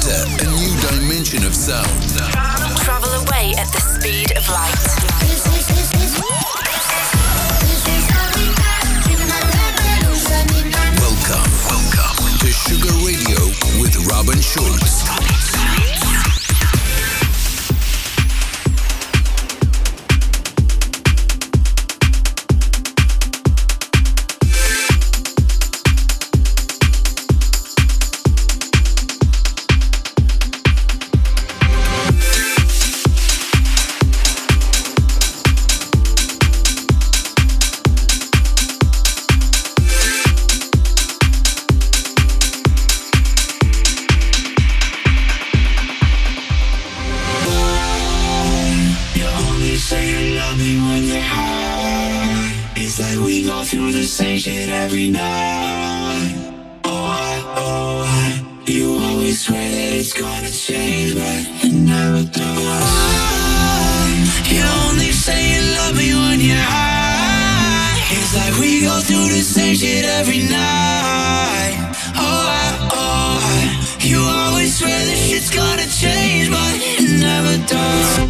Enter a new dimension of sound. Travel away at the speed of light. Welcome to Sugar Radio with Robin Schulz. Same shit every night. You always swear that it's gonna change, but it never does. You only say you love me when you're high. It's like we go through the same shit every night. You always swear that shit's gonna change, but it never does.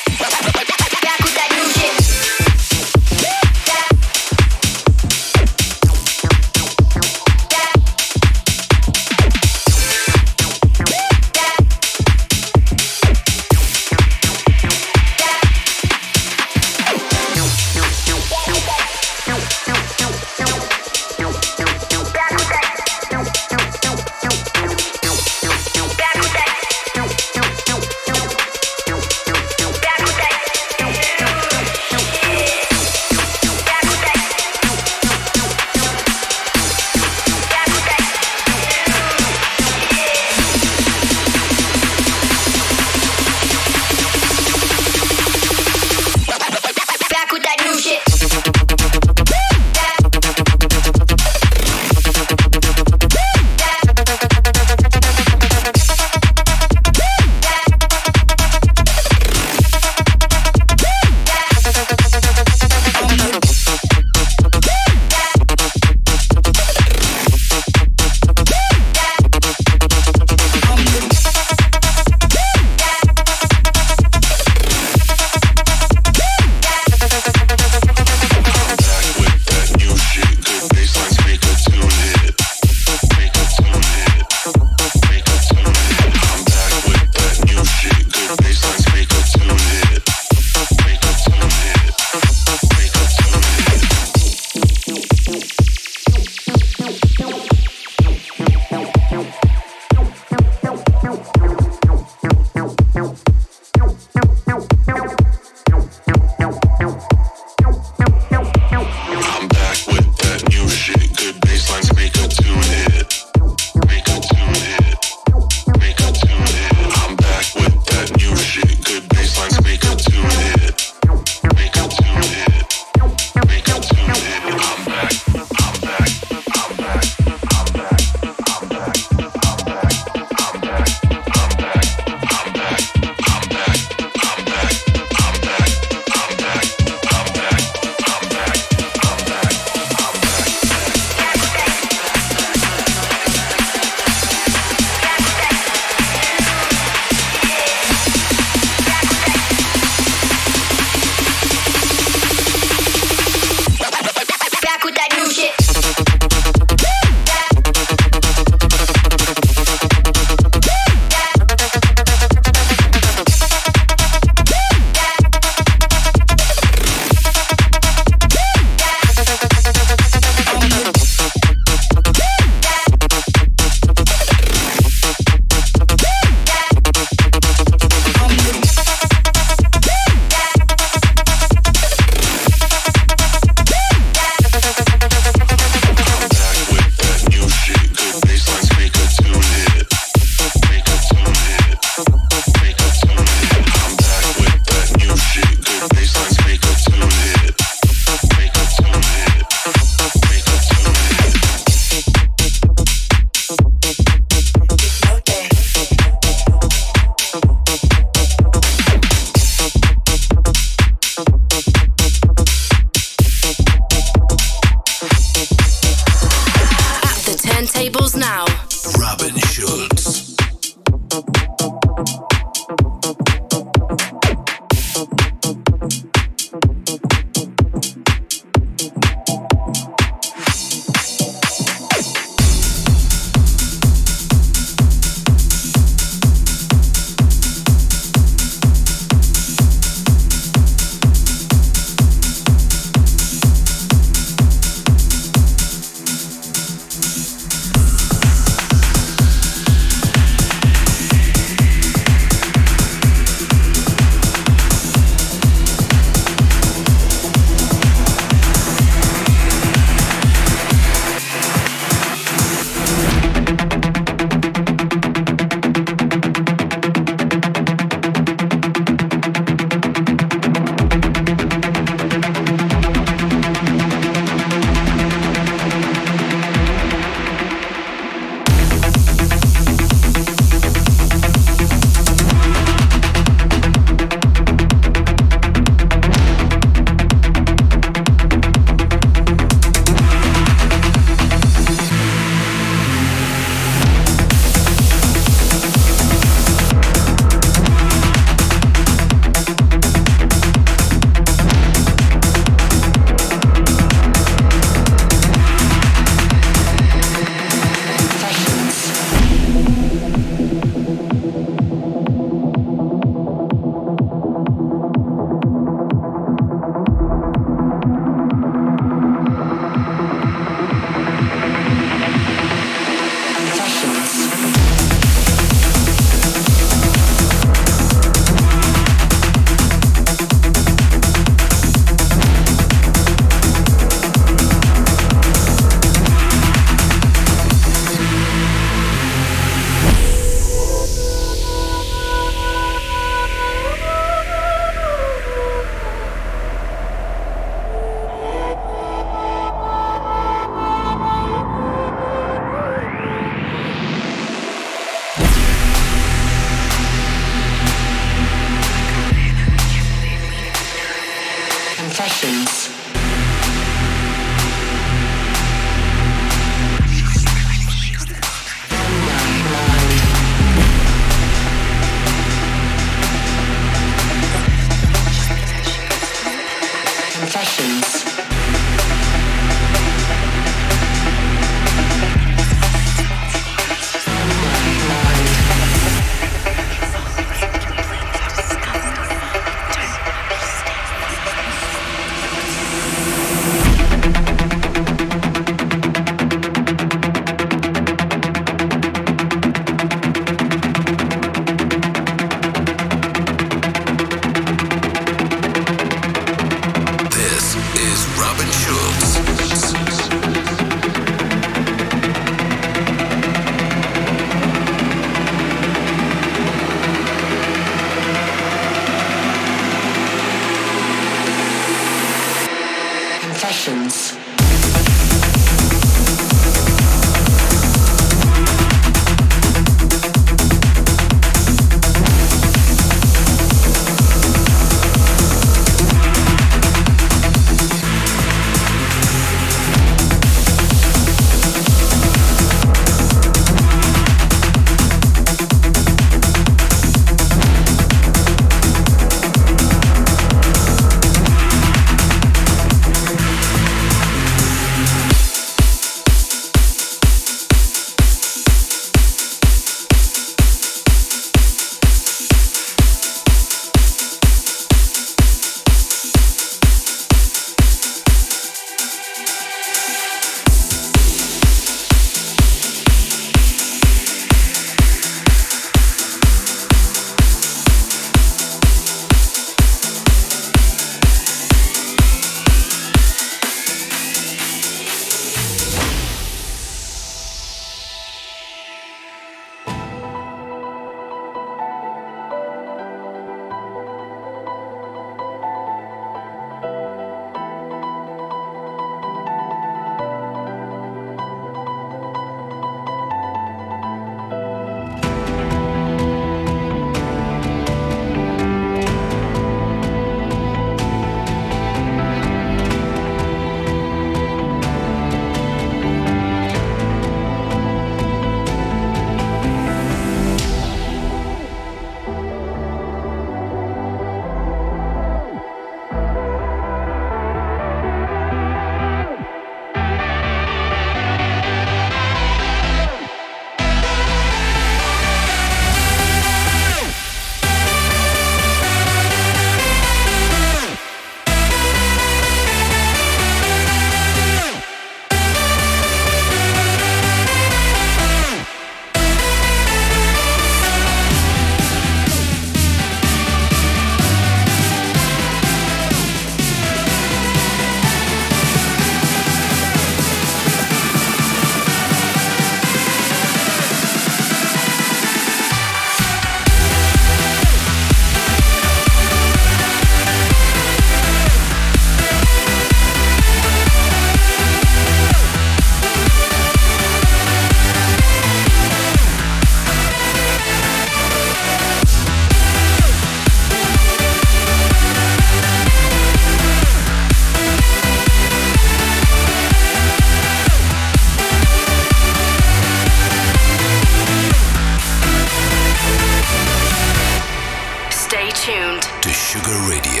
Sugar Radio.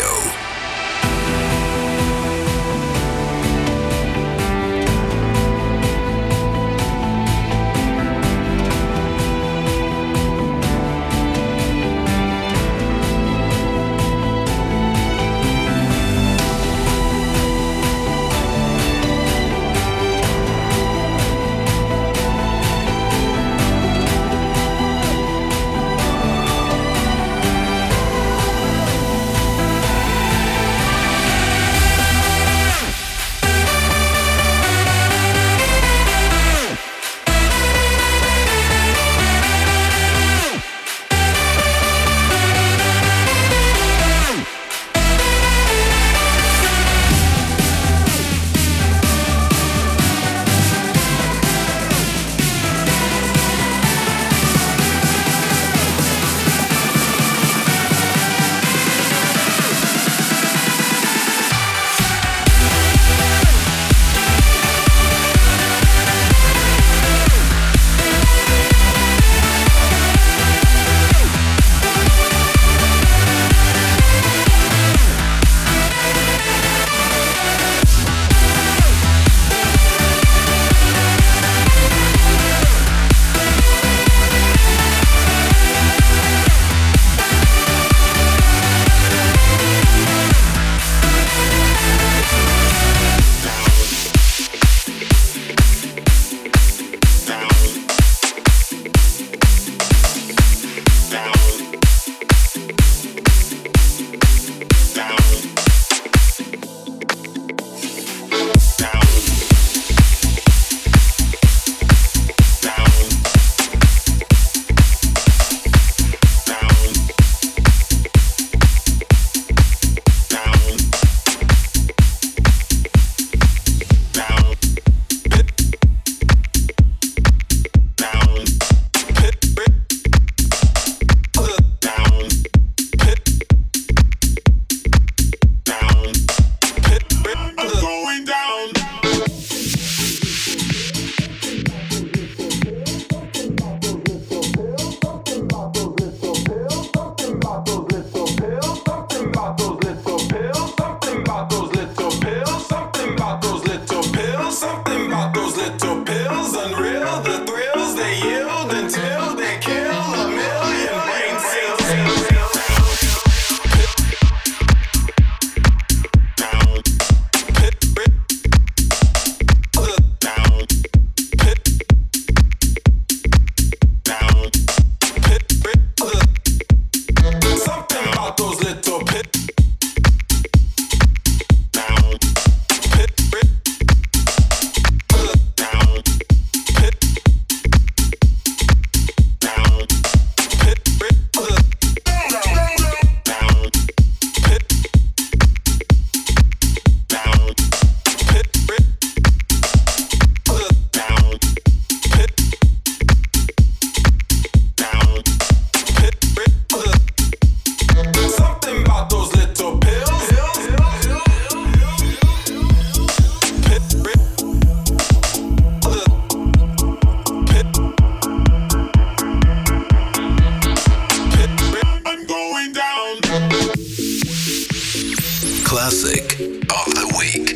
Classic of the Week.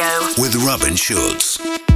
Radio with Robin Schulz.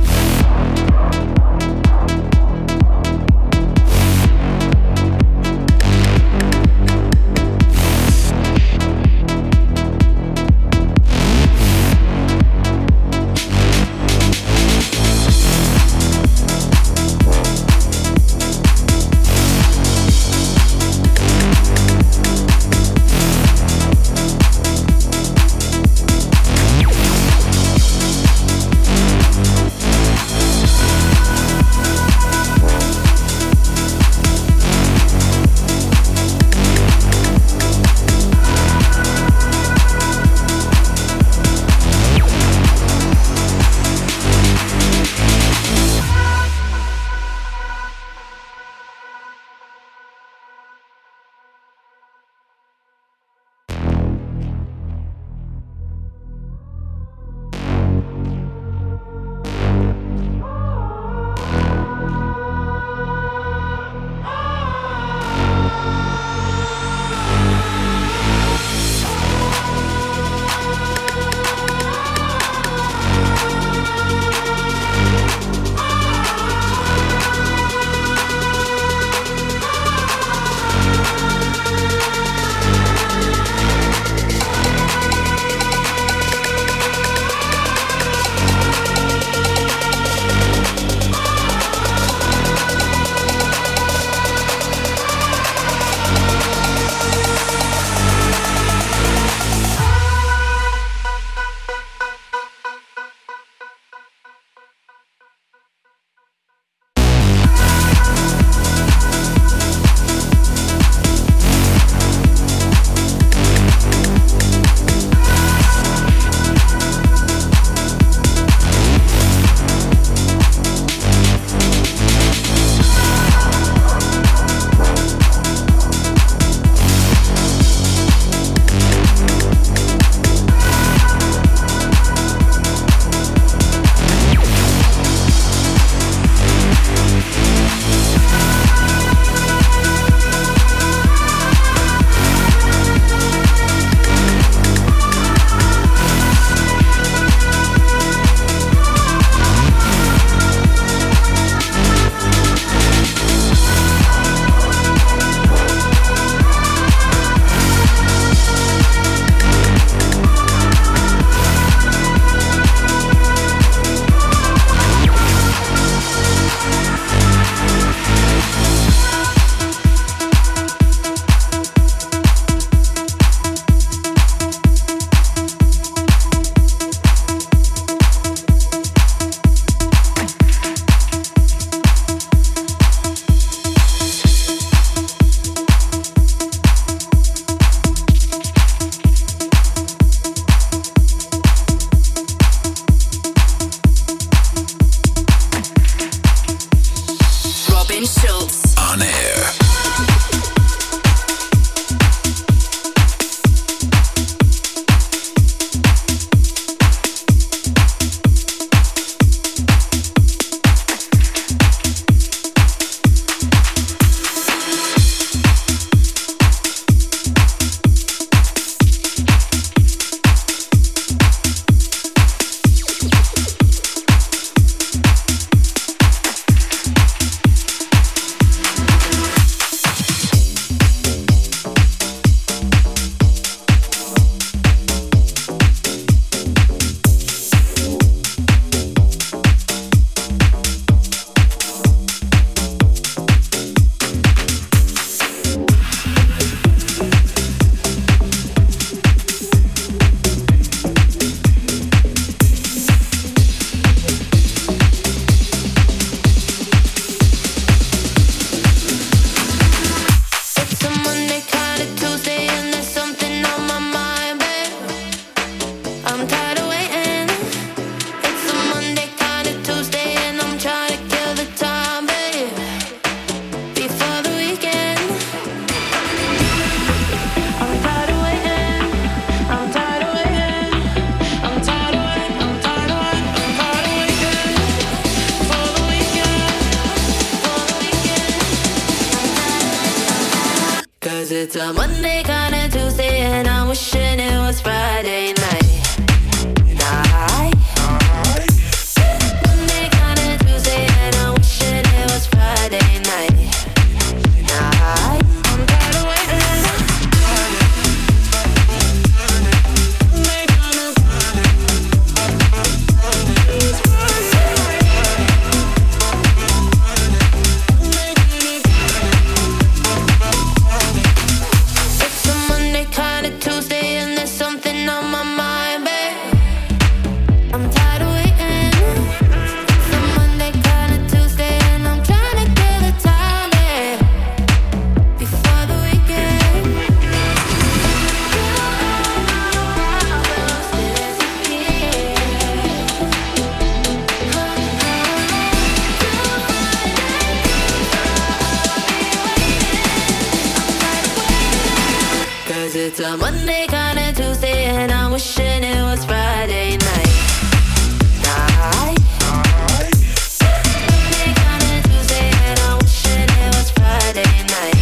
It's a Monday, kinda Tuesday, and I'm wishing it was Friday night. it's a Monday, kinda Tuesday, and I'm wishing it was Friday night. Monday, kinda Tuesday, and I'm wishing it was Friday night.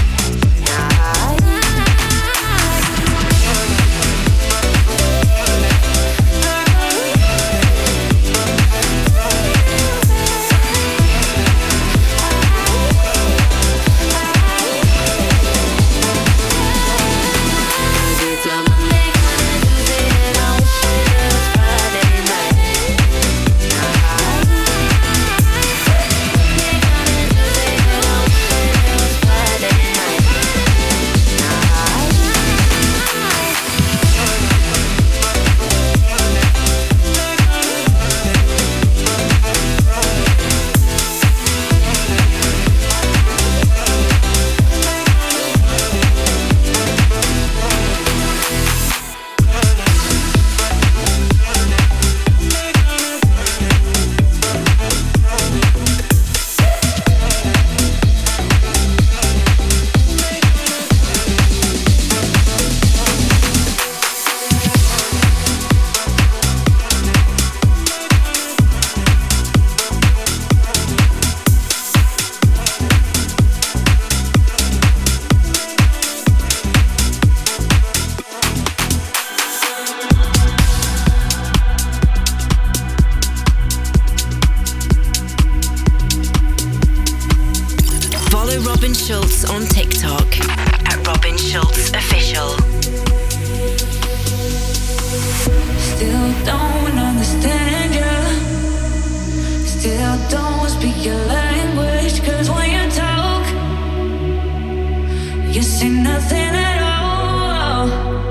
Robin Schulz on TikTok at Robin Schulz Official. Still don't understand you. Still don't speak your language. 'Cause when you talk, you say nothing at all.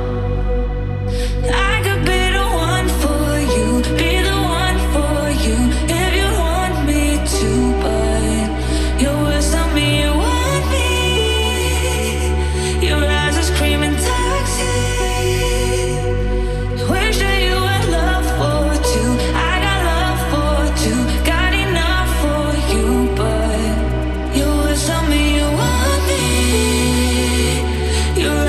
I could be the one for you, be the one for you, if you want me to, but your words tell me you want me. Your eyes are screaming toxic. Wish that you had love for two. I got love for two, got enough for you, but your words tell me you want me. Your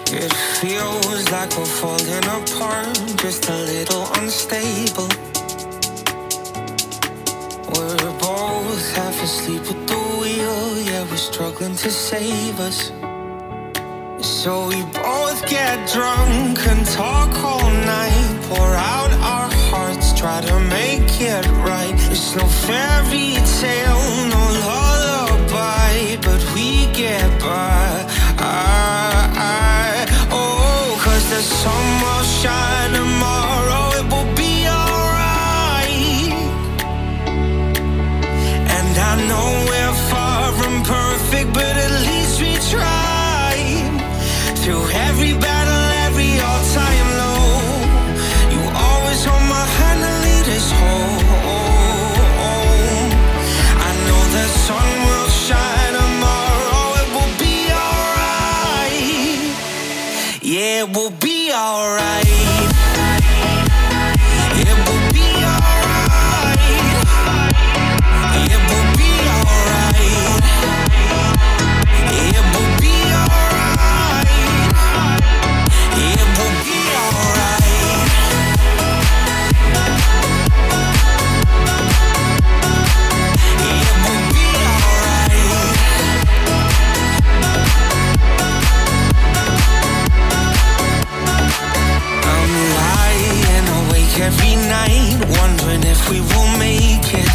It feels like we're falling apart, just a little unstable. We're both half asleep at the wheel, yeah, we're struggling to save us. So we both get drunk and talk all night, pour out our hearts, try to make it right. It's no fairy tale, no lullaby, but we get by. Oh, 'cause the sun will shine tomorrow, it will be alright. And I know we're far from perfect, but at least we tried. Through every battle, every all-time low, you always hold my hand and lead us home. I know the sun will shine tomorrow, it will be alright. Yeah, it will be alright. It will be alright. It will be alright. It will be alright. It will be alright. It will be alright. I'm lying awake every night, wondering if we will make it.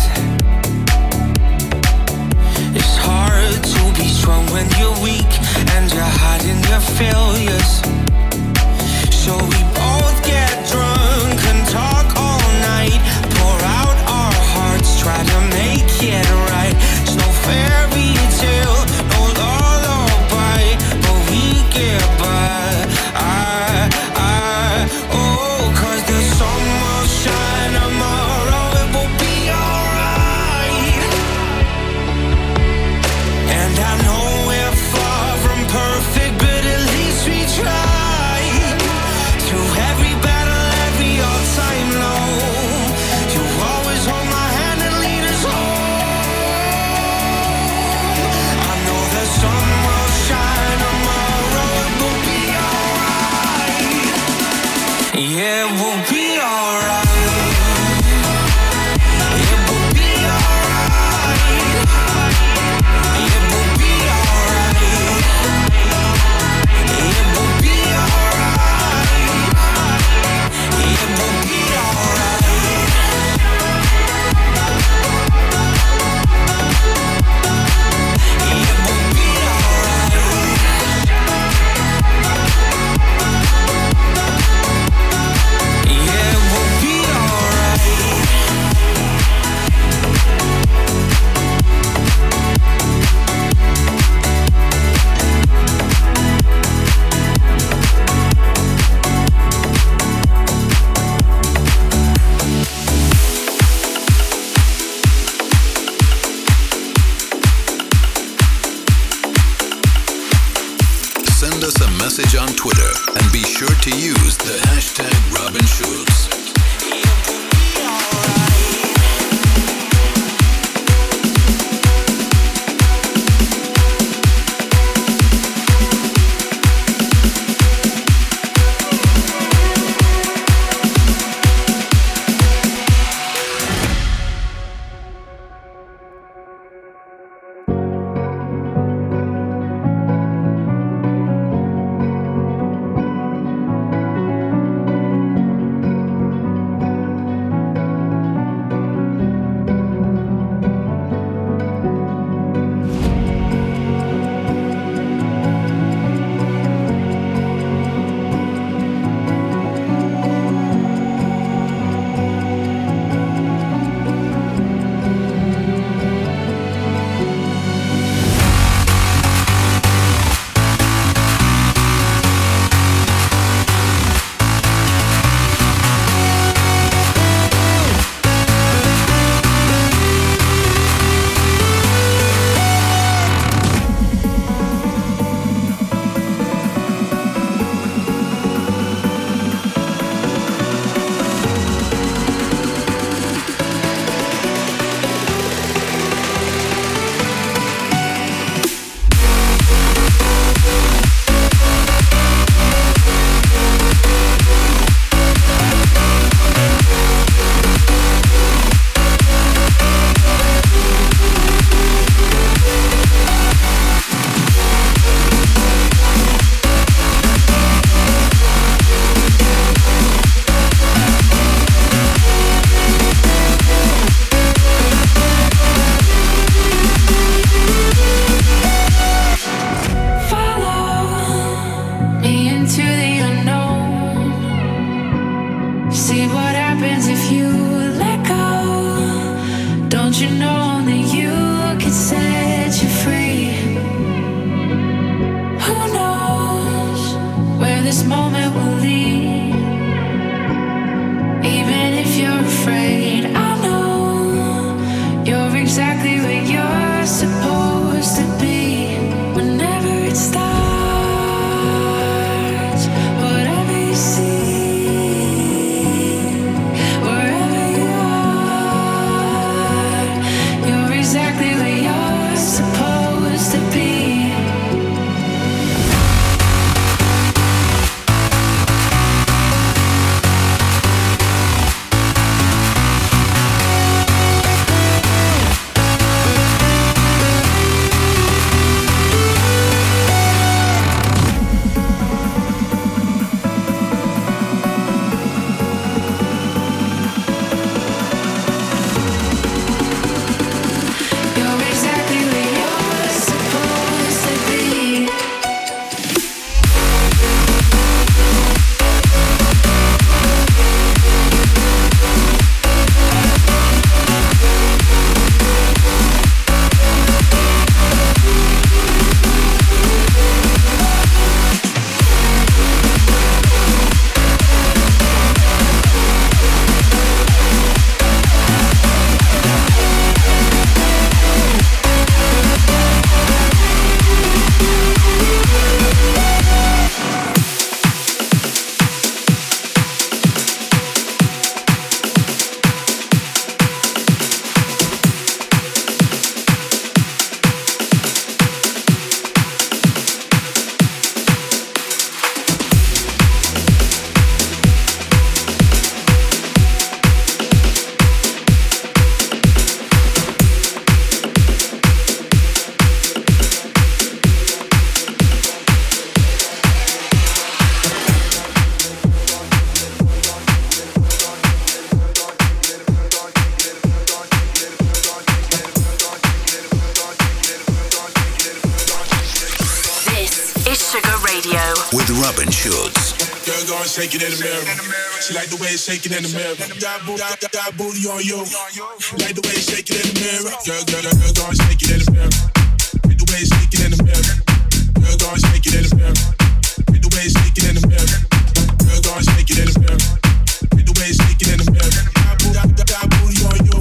It's hard to be strong when you're weak and you're hiding your failures. So we both get drunk and talk all night, pour out our hearts, try to make it right. It's no fairy tale, no lullaby, but we get by. Oh, 'cause the sun will shine tomorrow, it will be alright. And I know we're far from perfect, but at least we tried. Through every battle, every all-time low, you always hold my hand and lead us home. I know the sun will shine tomorrow, it will be alright. Yeah, it will be alright. It will be alright. It will be alright. It will be alright. It will be alright. It will be alright. Yeah, it will be alright. Send us a message on Twitter and be sure to use the hashtag Robin Schulz. moment will lead. Even if you're afraid, I know you're exactly where you're supposed to be. Whenever it starts, whatever you see, wherever you are, you're exactly where you're supposed to be. Shaking in the mirror. She like the way it's shaking in the mirror. Got booty on you. Like the way it's shaking in the mirror. Girl, gonna shake it in the mirror. Like the way it's shaking in the mirror. Girl, gonna shake it in the mirror. Like the way it's shaking in the mirror. Girl, gonna shake it in the mirror. Like the way it's shaking in the mirror. Got booty on you.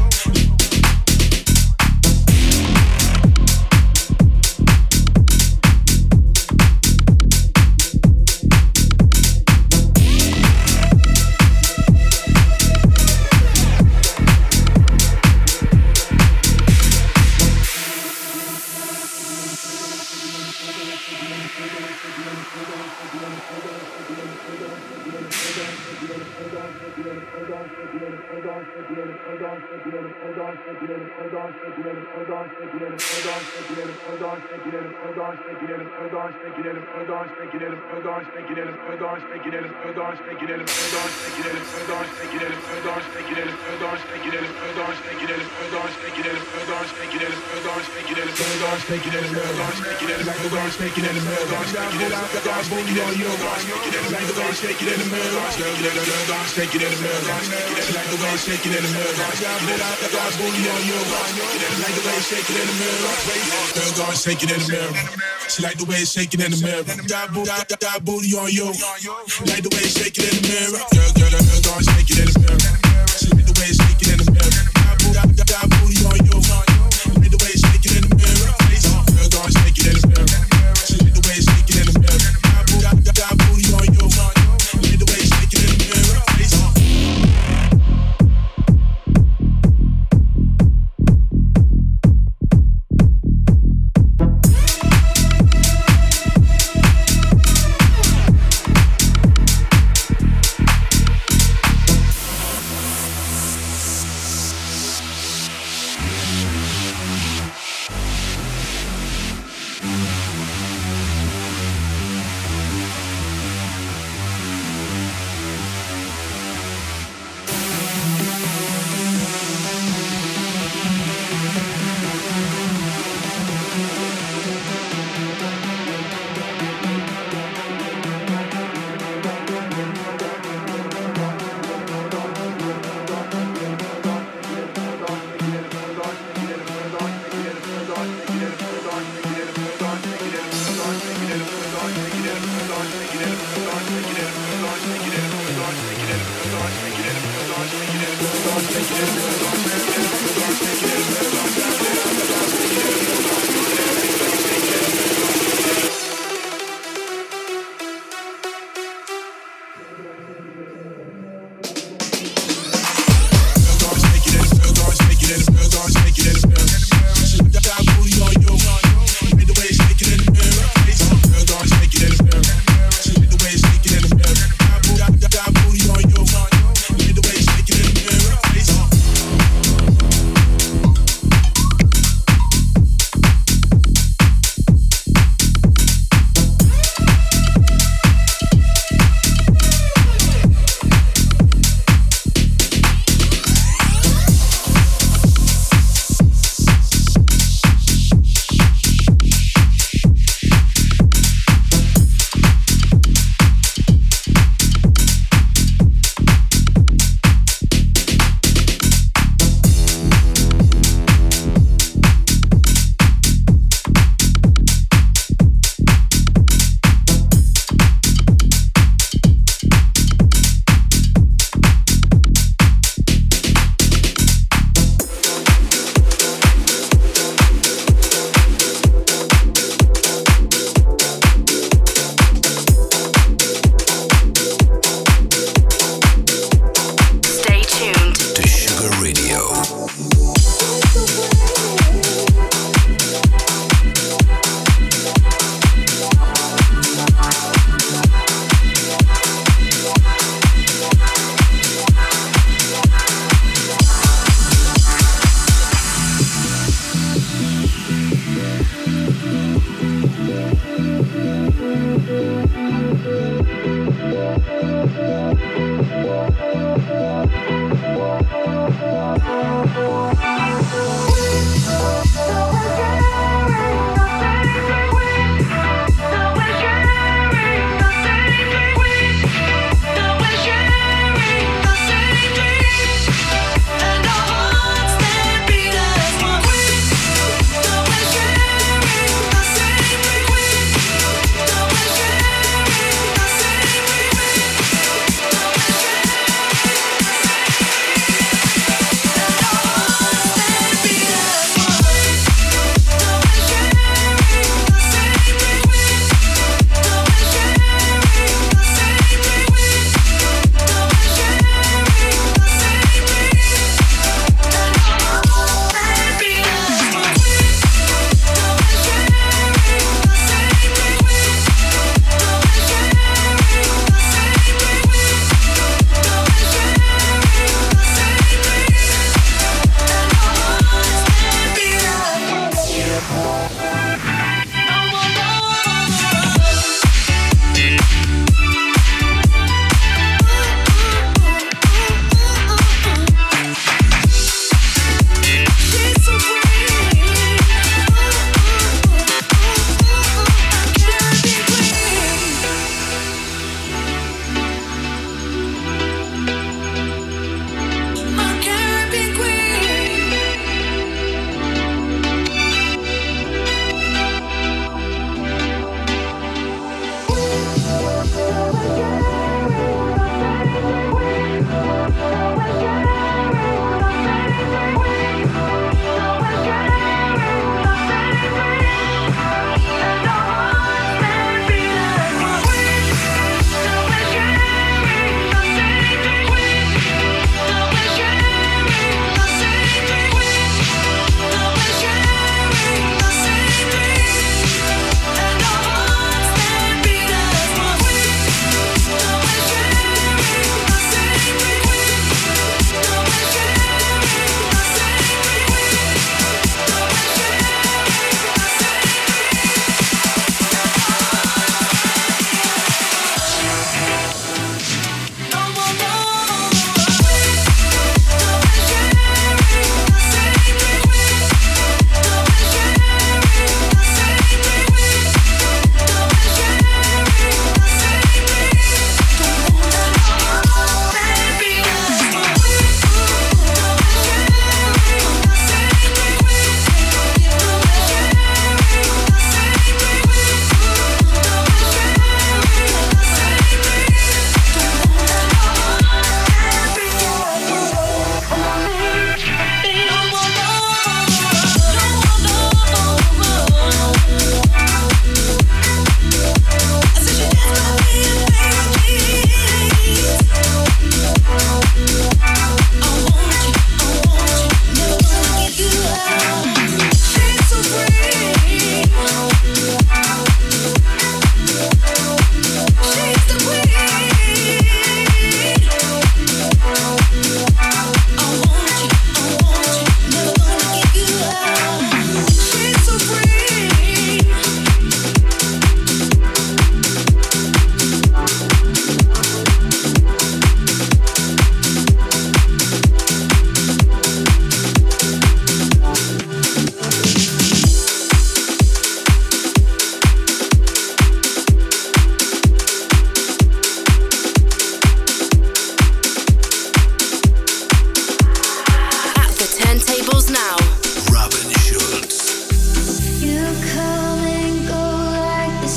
Shake it in the mirror. She like the way it's shaking in the mirror. Got booty on you. Like the way it's shaking in the mirror. Girl, gonna shake it in the mirror. She like the way it's shaking in the mirror. Got booty on you. Like the way it's shaking in the mirror. Girl, gonna shake it in the mirror. She like the way it's shaking in the mirror. Got booty on you. Like the way it's shaking in the mirror.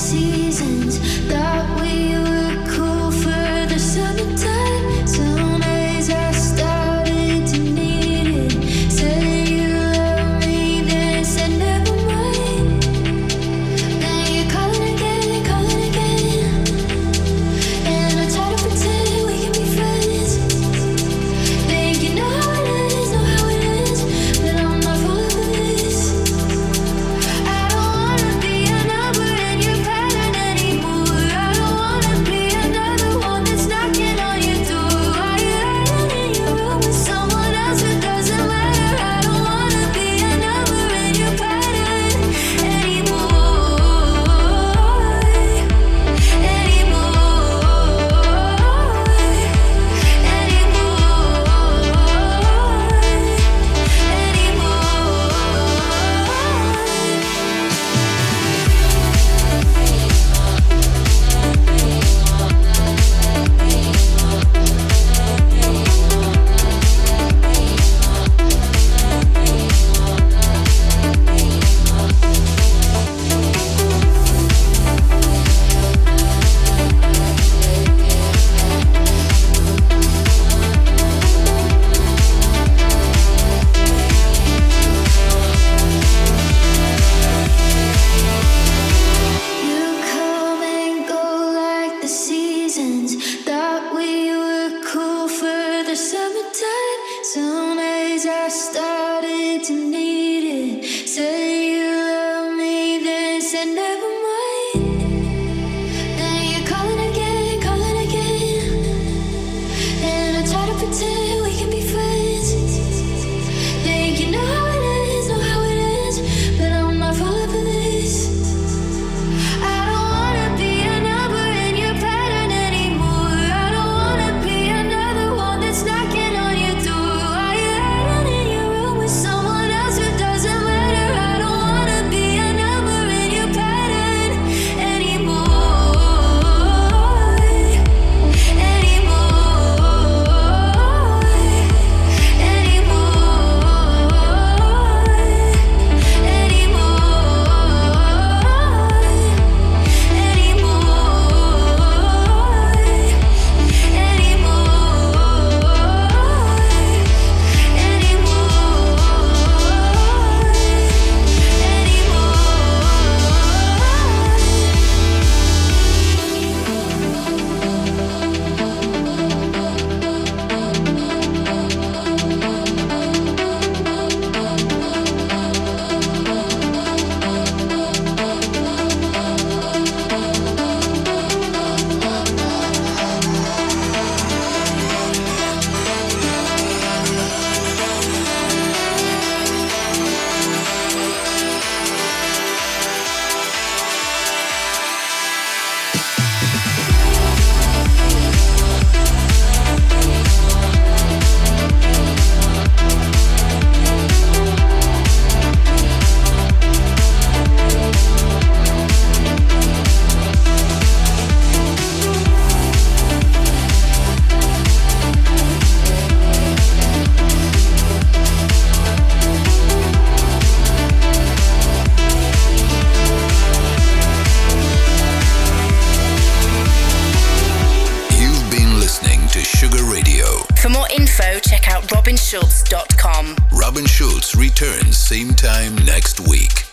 robinschulz.com. Robin Schulz returns same time next week.